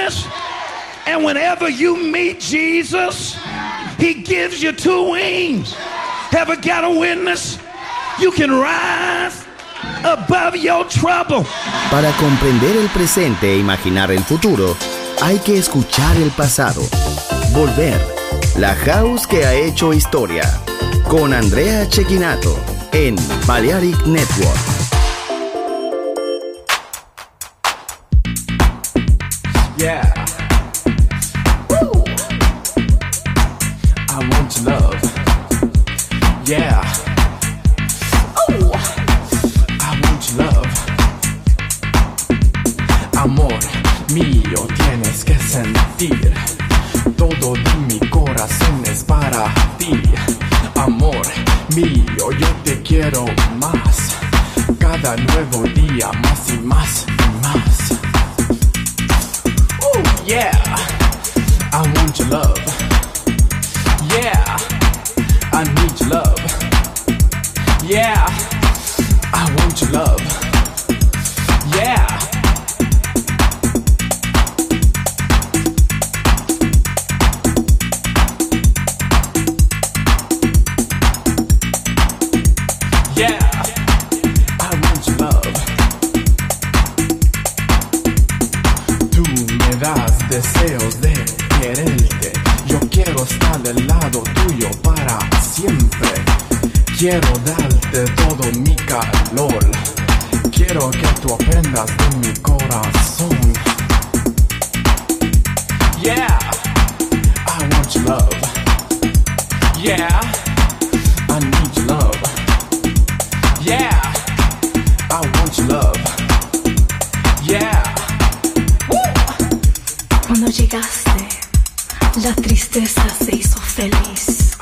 witness. And whenever you meet Jesus, he gives you two wings. Ever got a witness? You can rise above your trouble. Para comprender el presente e imaginar el futuro, hay que escuchar el pasado. Volver. La House que ha hecho historia. Con Andrea Cecchinato en Balearic Network. Yeah. Woo. I want your love. Yeah. Oh. I want your love. Amor mío, tienes que sentir. Todo de mi corazón es para ti. Amor mío, yo te quiero más. Cada nuevo día más y más y más. Ooh, yeah. I want your love. Yeah. I need your love. Yeah. I want your love. Yeah. Deseos de quererte, yo quiero estar del lado tuyo para siempre. Quiero darte todo mi calor, quiero que tú aprendas de mi corazón. Yeah, I want your love. Yeah, I need your love. Yeah, I want your love. Yeah. Cuando llegaste, la tristeza se hizo feliz.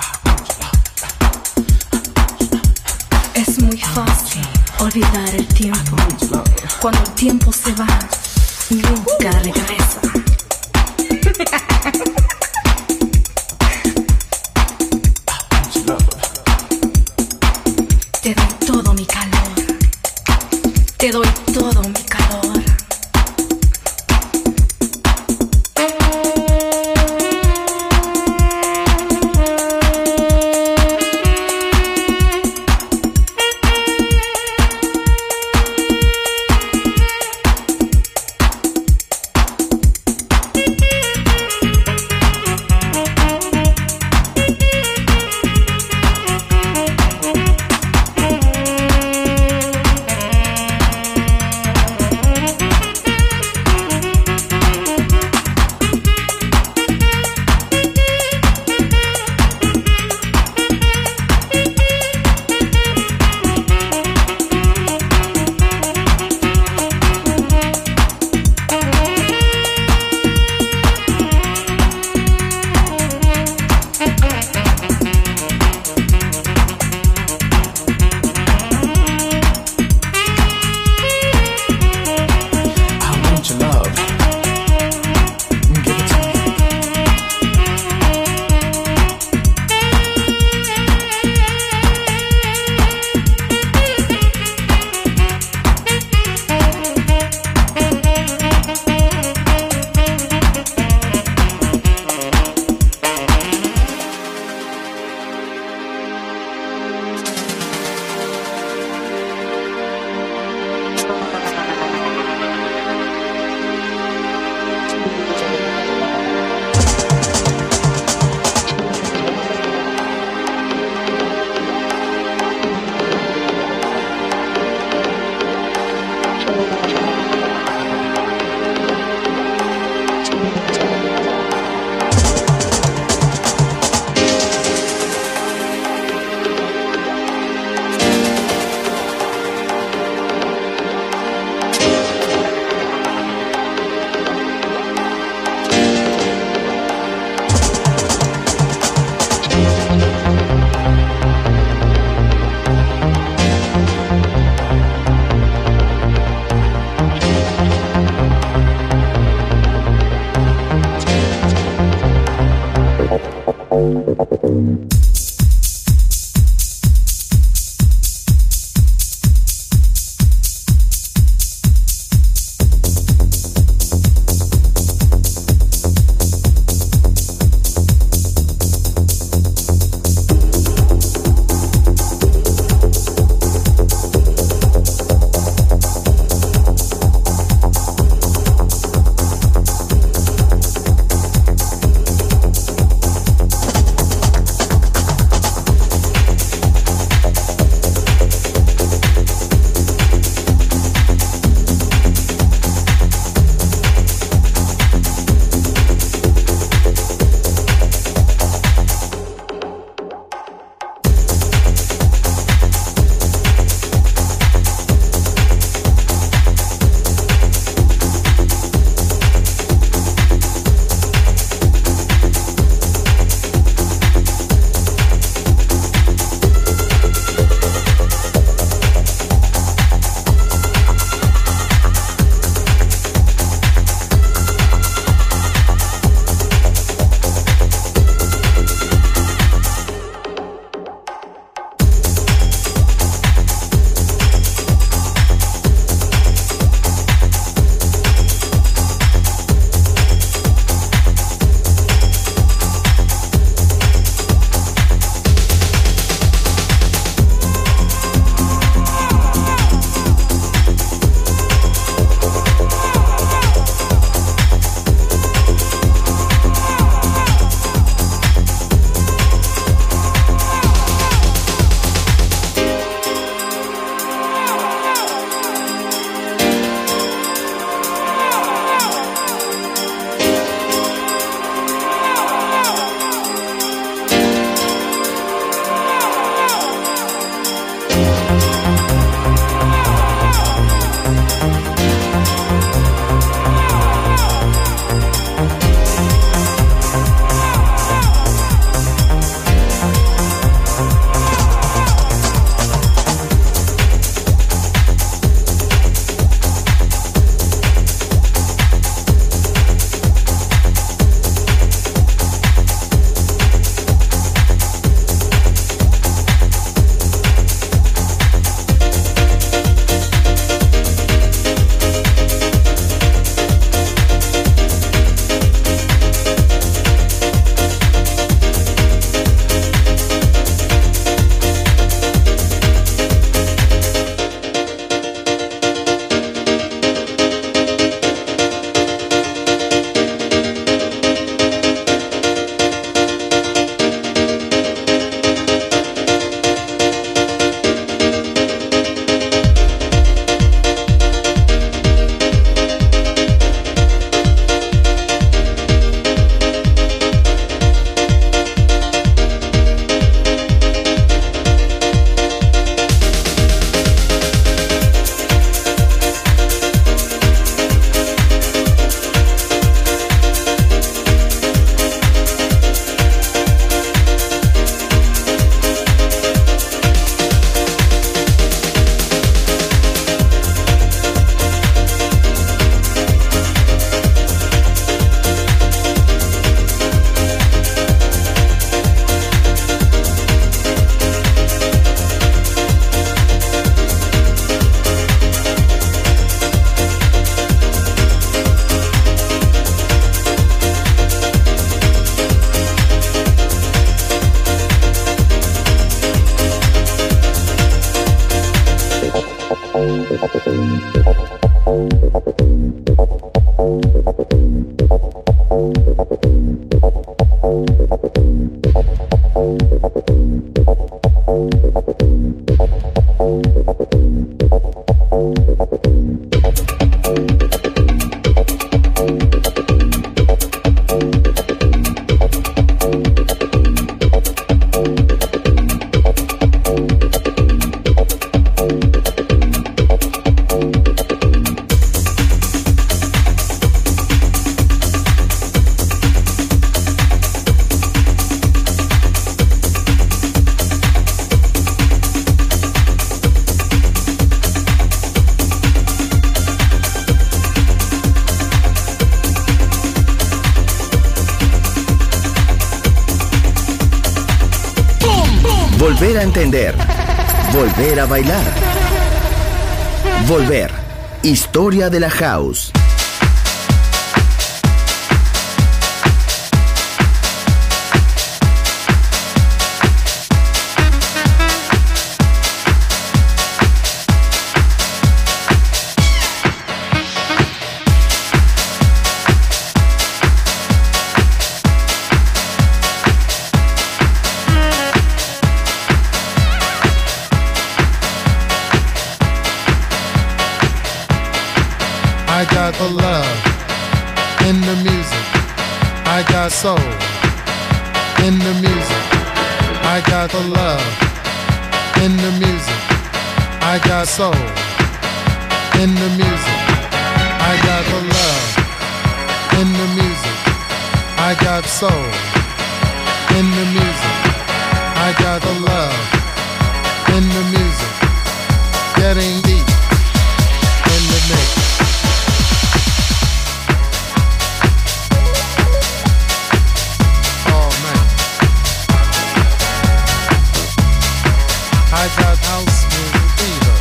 Es muy fácil olvidar el tiempo. Cuando el tiempo se va, nunca regresa. Te doy todo mi calor. Te doy todo mi calor. Volver a entender. Volver a bailar. Volver. Historia de la house. I got the love in the music. I got soul in the music. I got the love in the music. I got soul in the music. I got the love in the music. I got soul in the music. I got the love in the music. Getting deep in the mix. I got house music fever.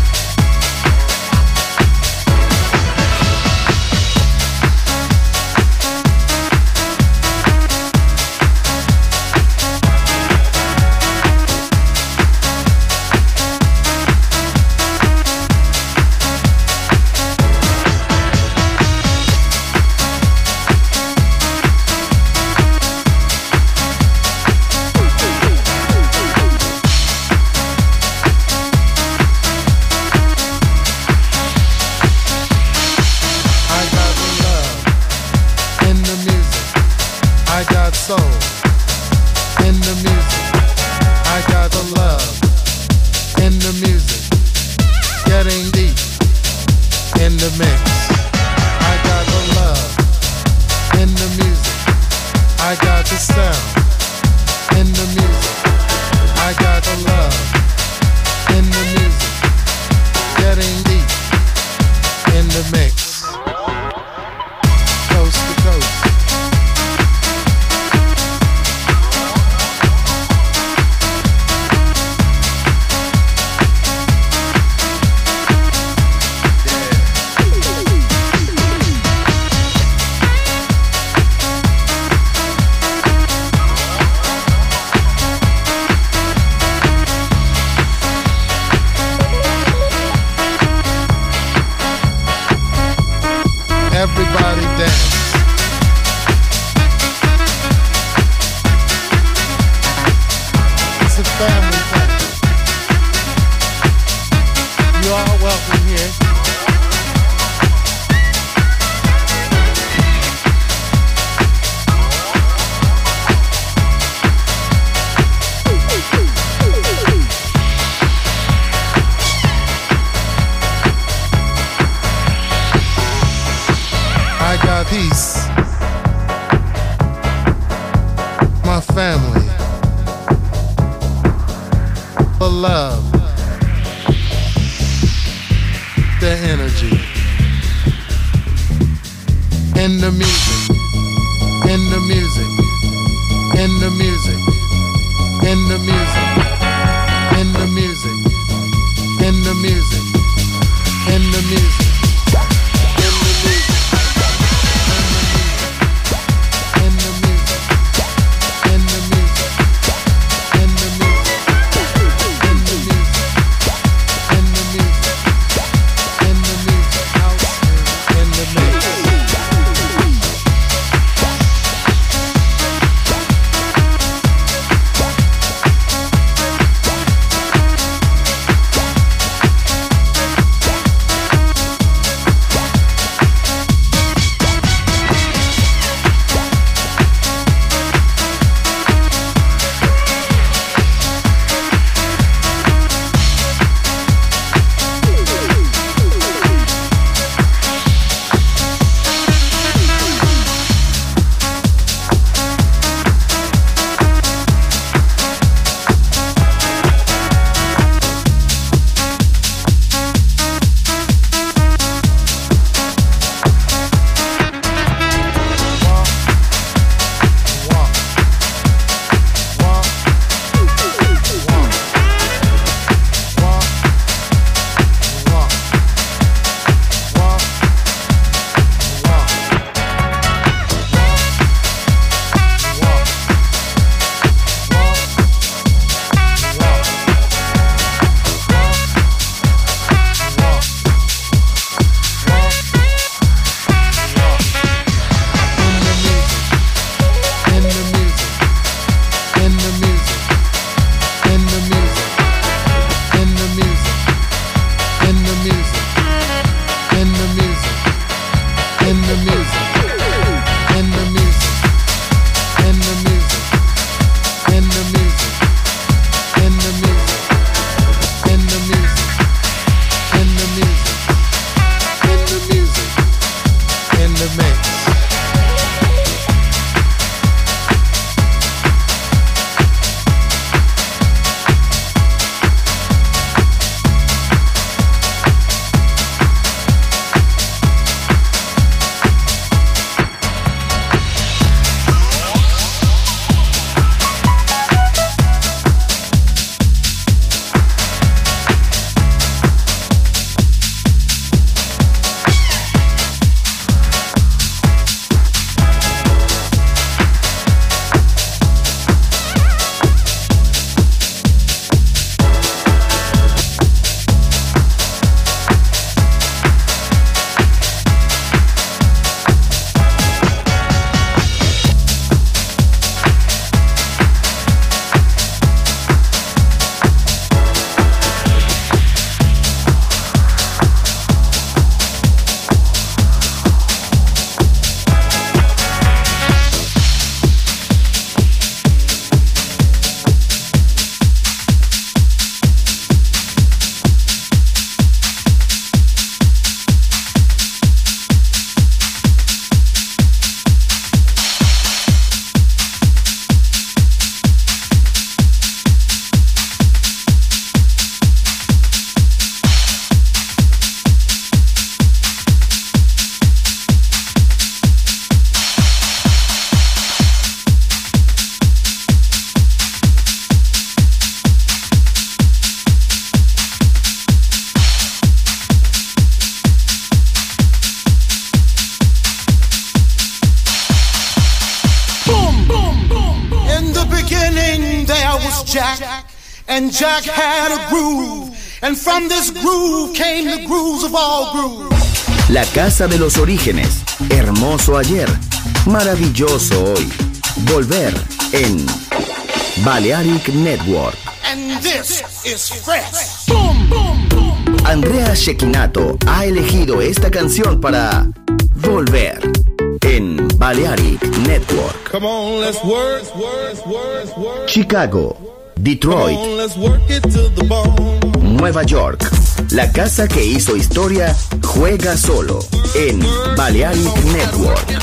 Soul in the music. I got the love in the music. Getting deep in the mix. I got the love in the music. I got the sound in the music. I got the love in the music. Getting deep in the mix. Coast to coast. Everybody dance. It's a family thing. You are welcome here. I got peace, my family, the love, the energy, in the music, in the music, in the music, in the music, in the music, in the music, in the music. was Jack, and Jack had a groove, and from this groove came the grooves of all grooves. La casa de los orígenes, hermoso ayer, maravilloso hoy. Volver en Balearic Network. And this is fresh. Boom, boom, boom. Andrea Cecchinato ha elegido esta canción para Volver en Balearic Network. Come on, let's work. Chicago, Detroit, Come on, let's work it to the bone. Nueva York. La casa que hizo historia juega solo en Balearic Network.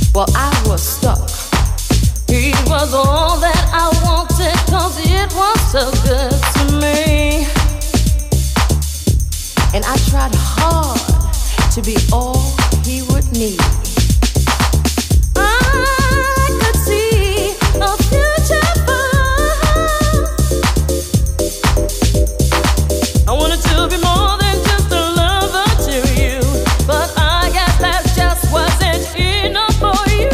Well, I was stuck. He was all that I wanted, 'cause it was so good to me. And I tried hard to be all he would need. I could see a future for us. I wanted to be more than just a lover to you, but I guess that just wasn't enough for you.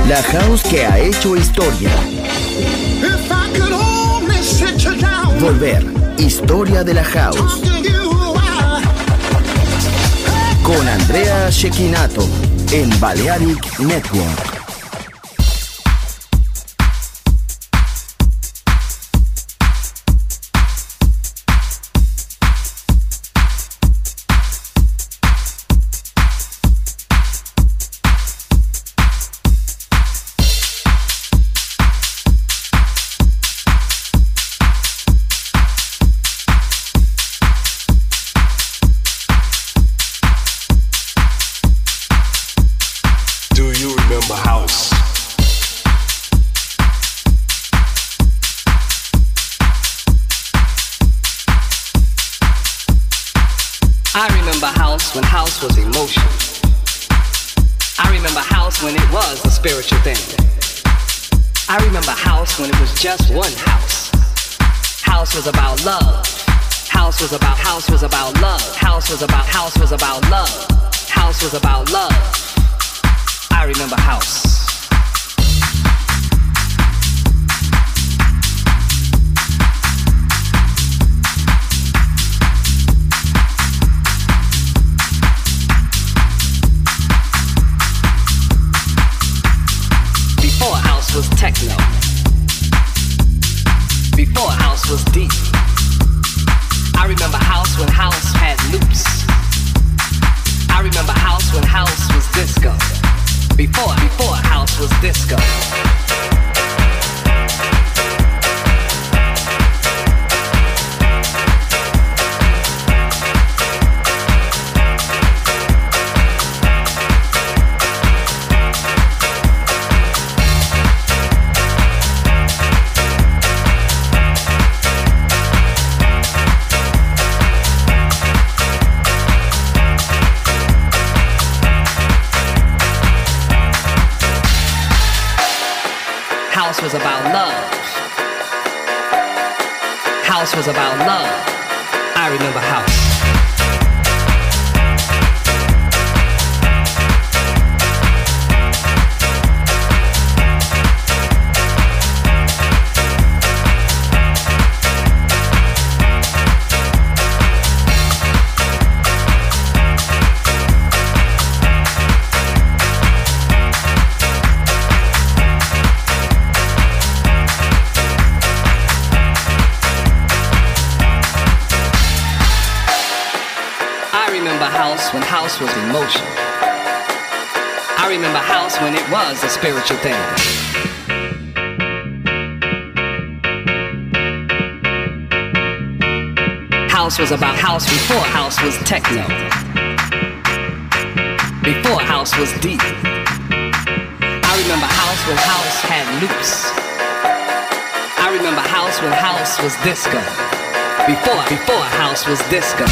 La house que ha hecho historia. Volver, historia de la house. Con Andrea Cecchinato en Balearic Network. When house was emotion. I remember house when it was a spiritual thing. I remember house when it was just one house. House was about love. House was about love. House was about love. House was about love. I remember house. Was techno. Before house was deep. I remember house when house had loops. I remember house when house was disco. Before house was disco. House was about love. House was about love. I remember house. When house was emotion. I remember house when it was a spiritual thing. House was about house before house was techno. Before house was deep. I remember house when house had loops. I remember house when house was disco. Before house was disco.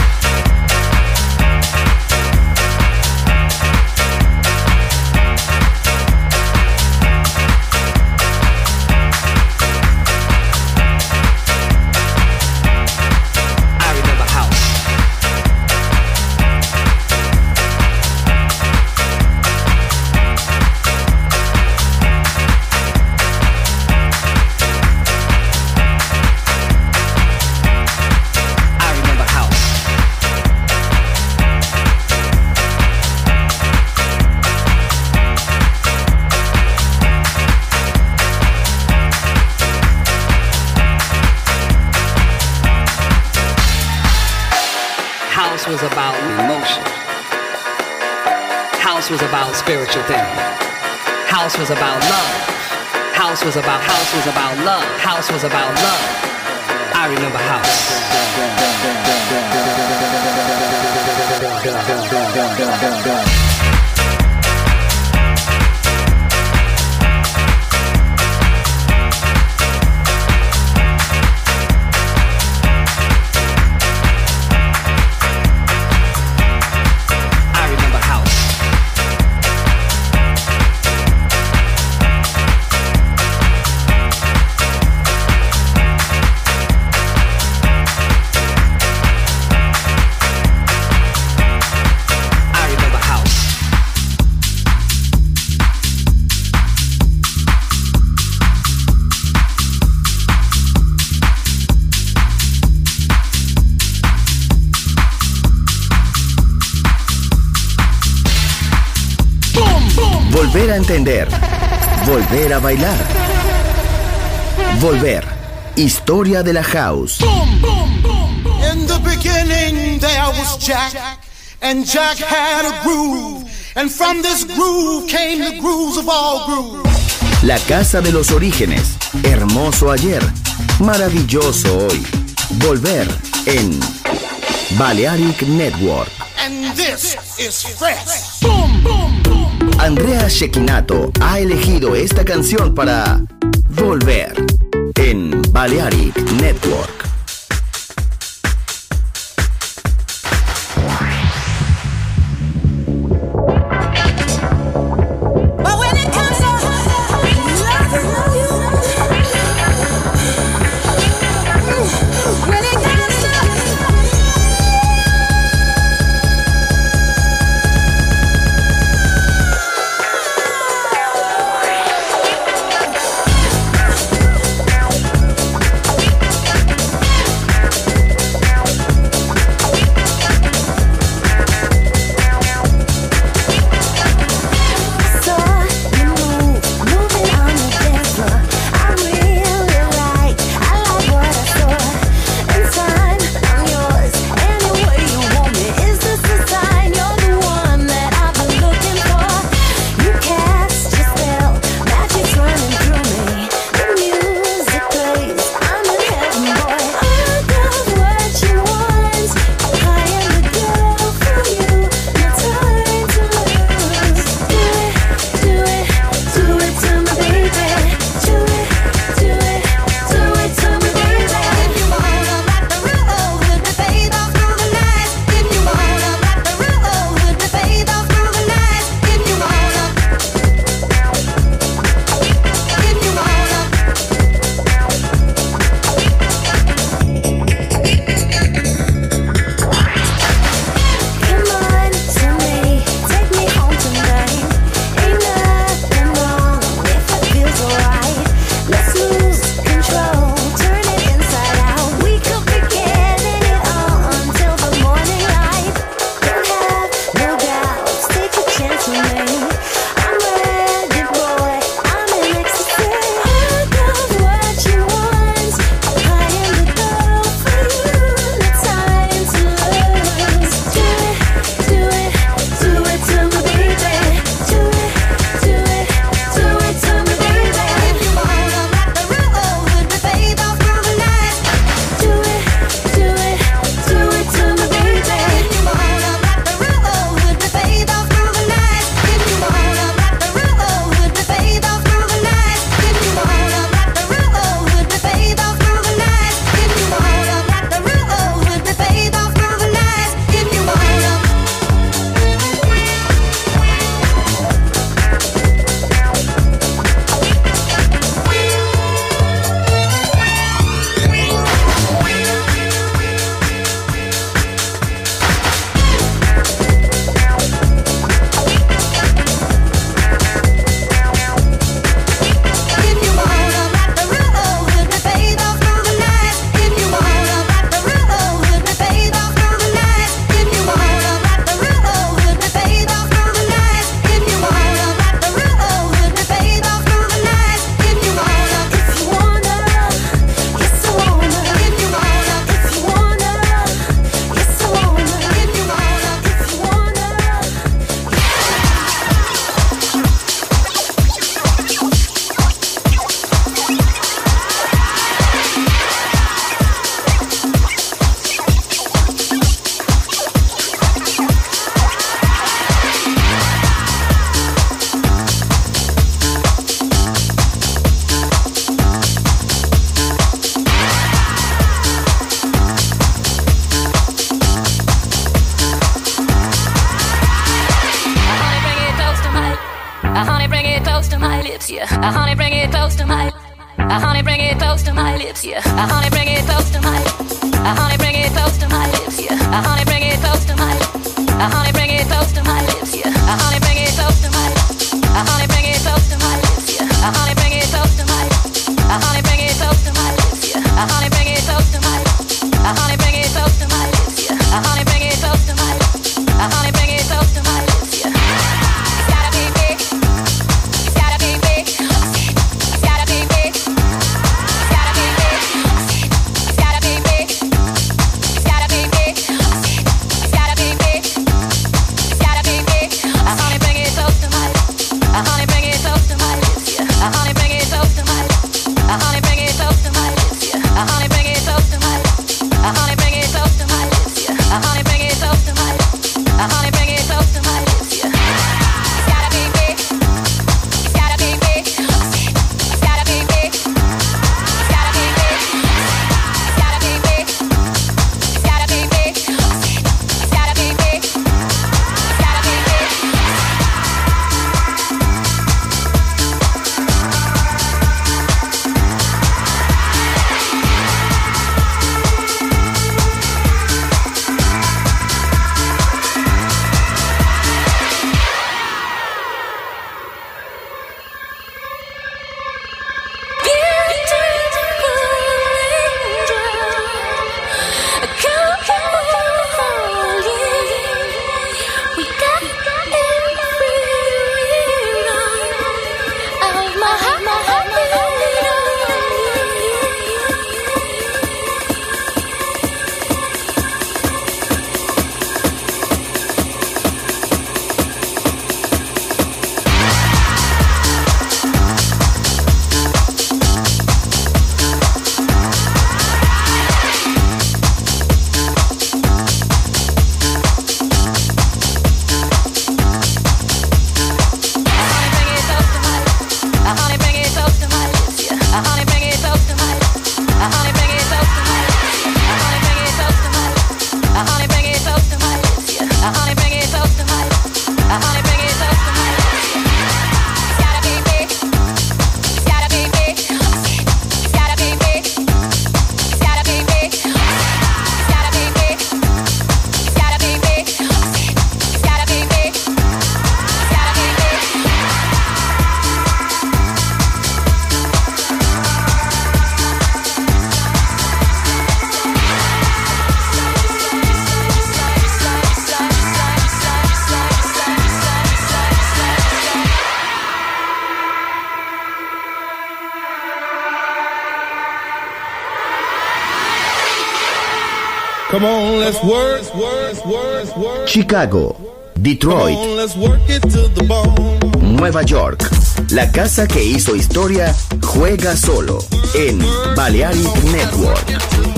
House was about emotion. House was about spiritual thing. House was about love. House was about love. House was about love. I remember house. I remember house. entender, volver a bailar. Volver, historia de la house. Boom, boom, boom, boom. In the beginning there was Jack, and Jack had a groove, and from this groove came the grooves of all grooves. La casa de los orígenes, hermoso ayer, maravilloso hoy. Volver en Balearic Network. And this is fresh. Boom, boom, boom. Andrea Cecchinato ha elegido esta canción para Volver en Balearic Network. yeah. Honey, bring it close to my. Honey, bring it close to my lips, yeah. Honey, bring it close to my. Honey, bring it close to my lips, yeah. Honey, bring it close to my. Honey, bring it close to my lips, yeah. Honey, bring it close to my. Honey, bring it close to my lips, yeah. Honey, bring it close to my. Honey, bring it close to my lips, yeah. Honey, bring it close to my. Honey, bring it close to my lips, yeah. Honey, bring it close to my. Honey, bring it close to my lips, yeah. It's gotta be big. Come on, let's work. Chicago, Detroit, Come on, let's work it to the bone. Nueva York. La casa que hizo historia juega solo en Balearic Network.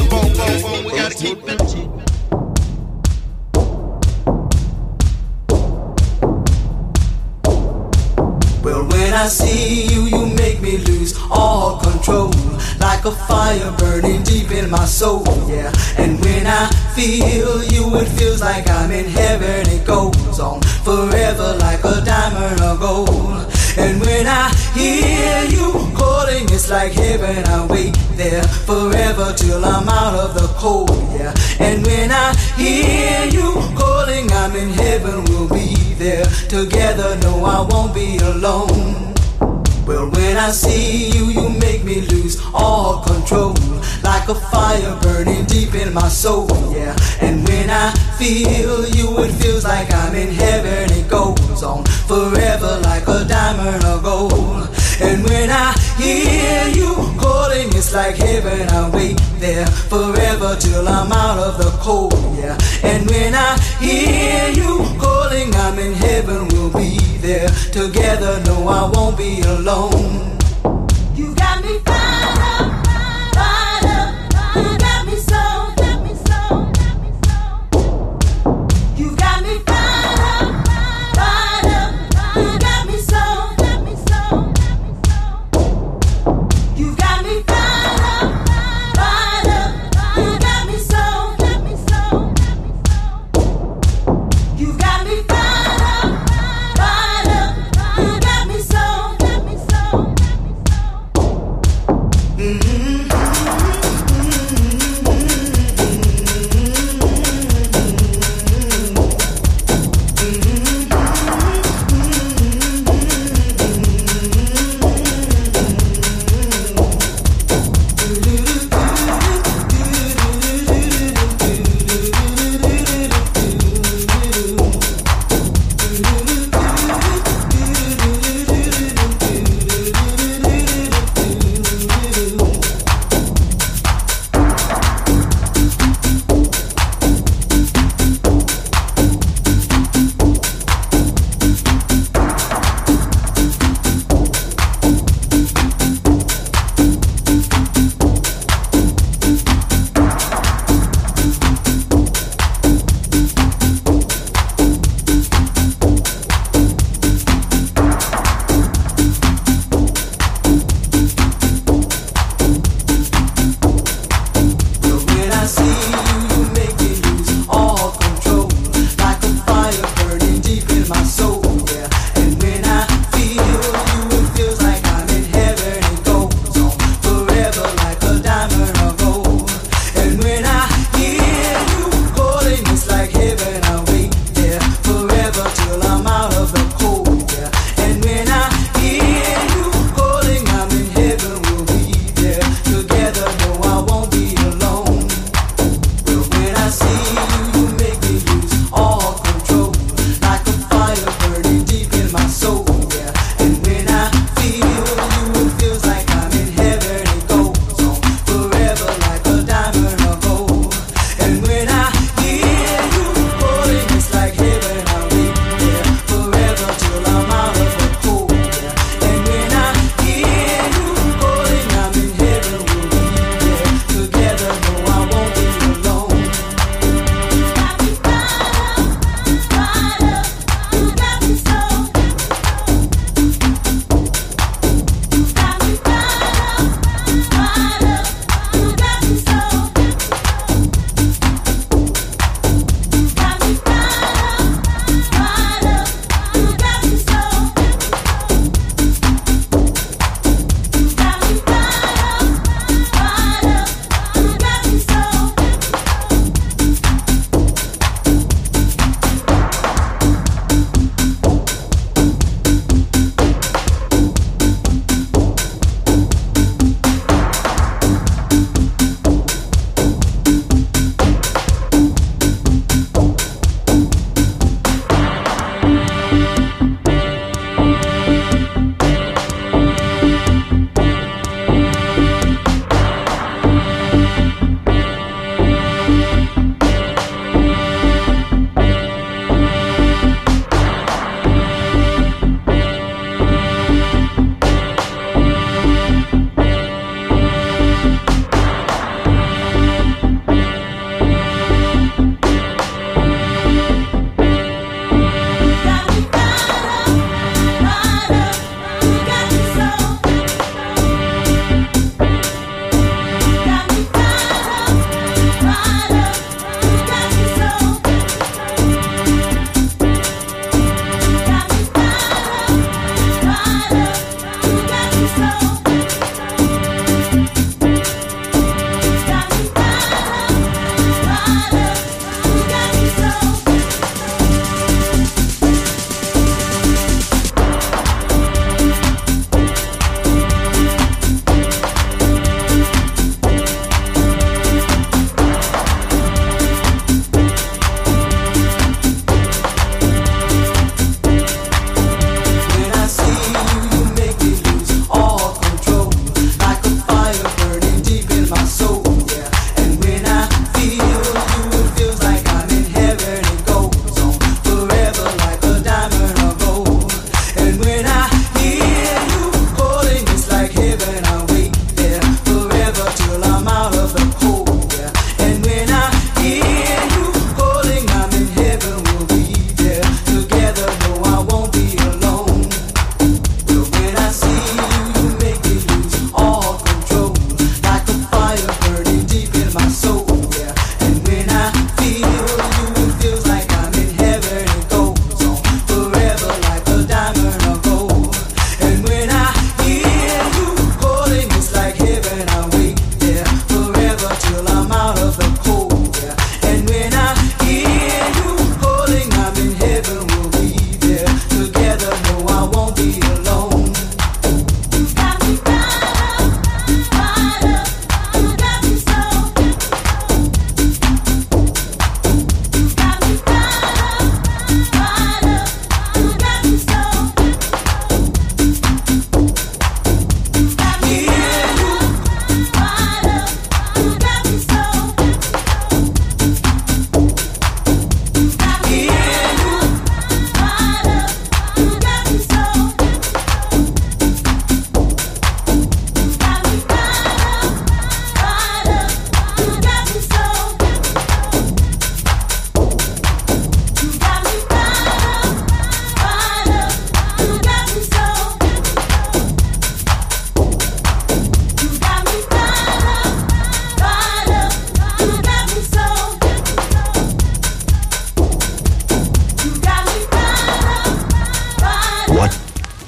Well, when I see you, you make me lose all control. Like a fire burning deep in my soul, yeah. And when I feel you, it feels like I'm in heaven. It goes on forever like a diamond or gold. And when I hear you calling, it's like heaven. I wait there forever till I'm out of the cold, yeah. And when I hear you calling, I'm in heaven. We'll be there together. No, I won't be alone. Well, when I see you, you make me lose all control. Like a fire burning deep in my soul, yeah. And when I feel you, it feels like I'm in heaven. It goes on forever like a diamond or gold. And when I hear you calling, it's like heaven. I wait there forever till I'm out of the cold, yeah. And when I hear you calling, I'm in heaven. We'll be there together. No, I won't be alone. You got me fired up, fired up. You got me so, got me so, got me so. You got me fired up, fired up. You got me so, got me so, got me so. You got me fired up, fired up. You got me so, got me so, got me so. You got me fired up, fired up. You got me so, got me so, got me so.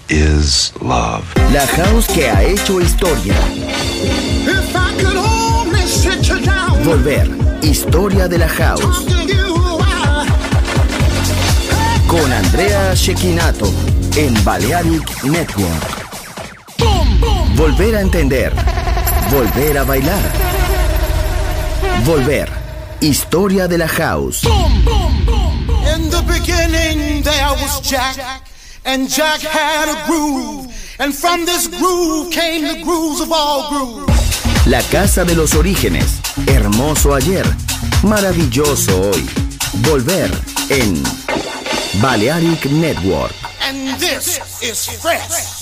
is love. La house que ha hecho historia. If I could only sit you down. Volver. Historia de la house. Con Andrea Cecchinato en Balearic Network. Volver a entender. Volver a bailar. Volver. Historia de la house. In the beginning there was Jack, and Jack had a groove, and from this groove came the grooves of all grooves. La casa de los orígenes. Hermoso ayer. Maravilloso hoy. Volver en Balearic Network. And this is fresh.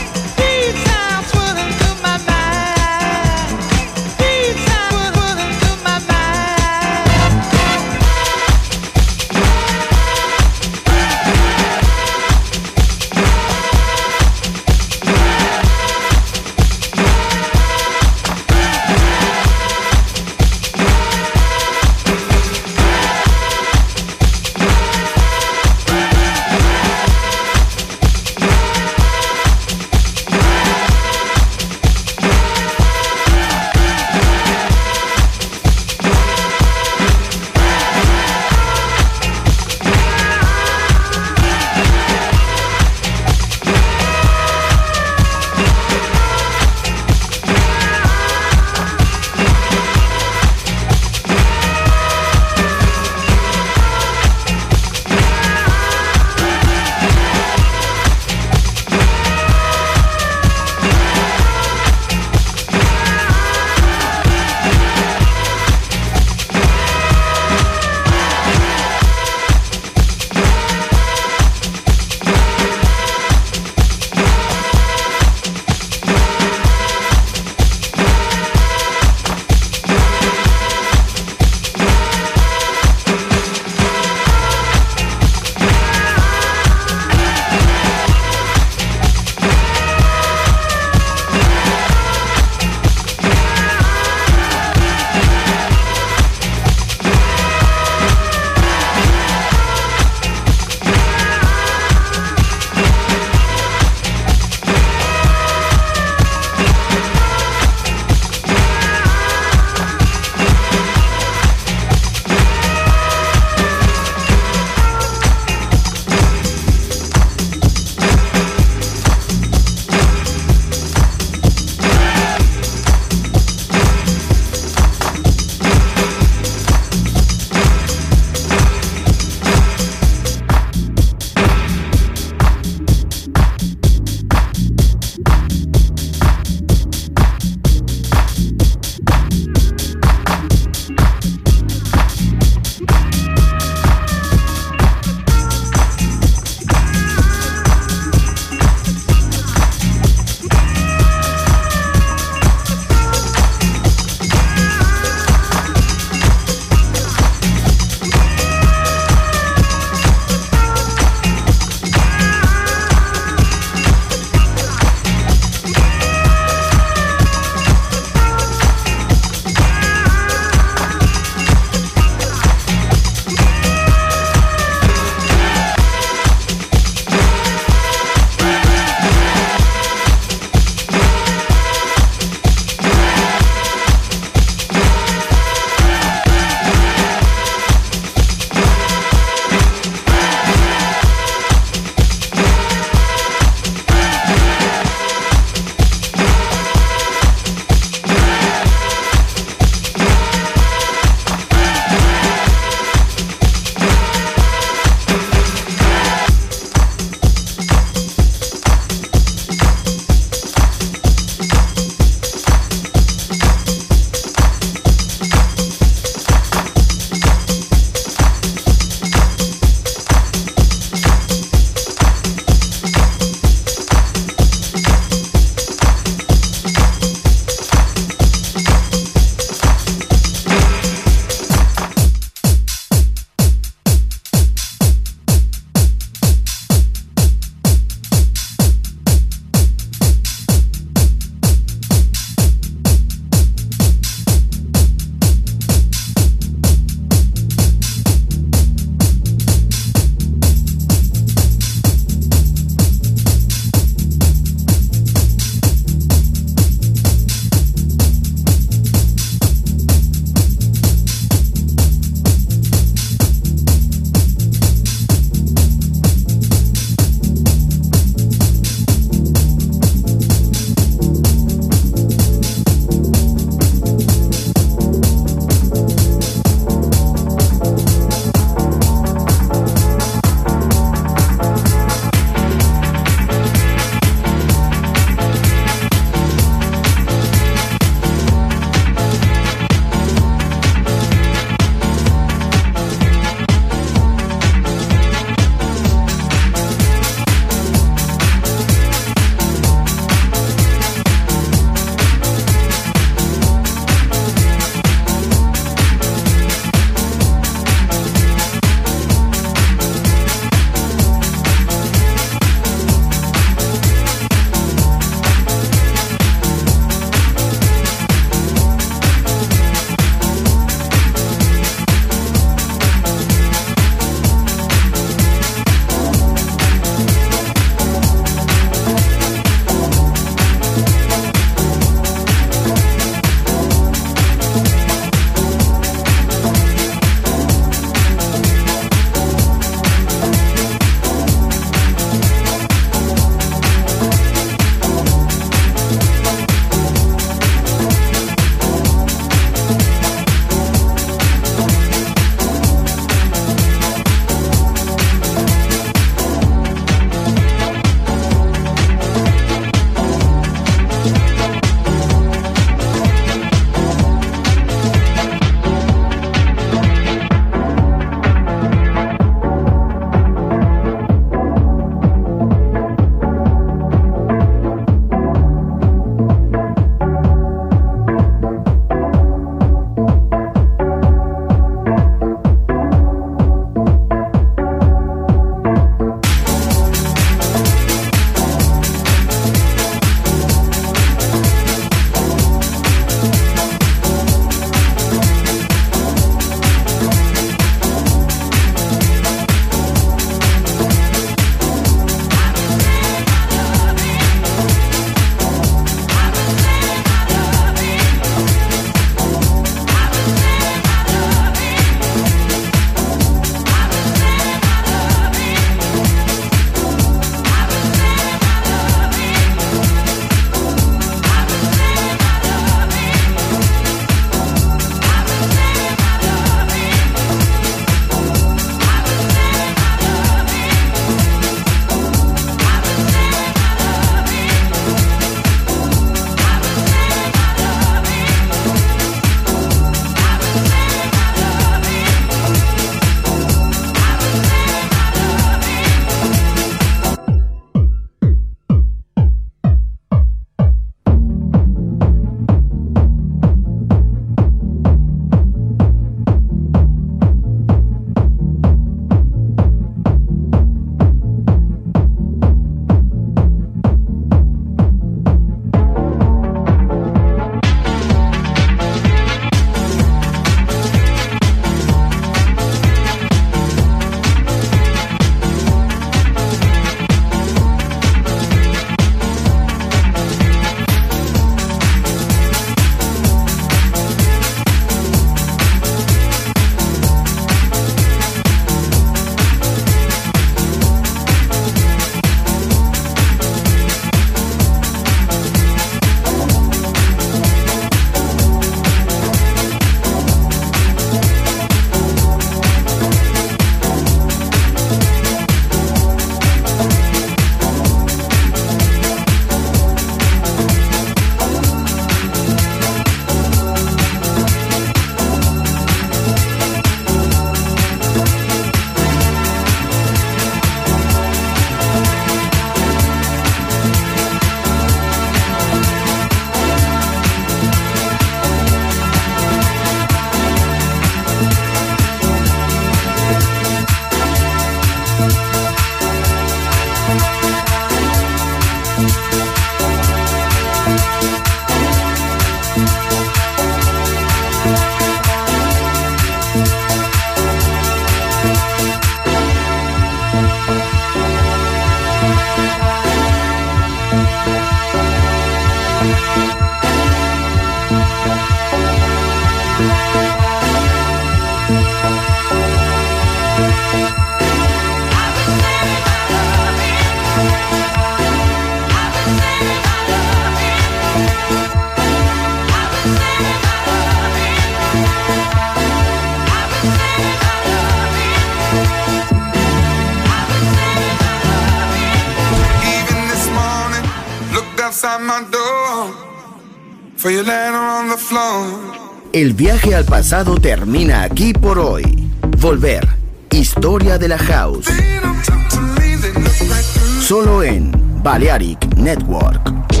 El viaje al pasado termina aquí por hoy. Volver. Historia de la House. Solo en Balearic Network.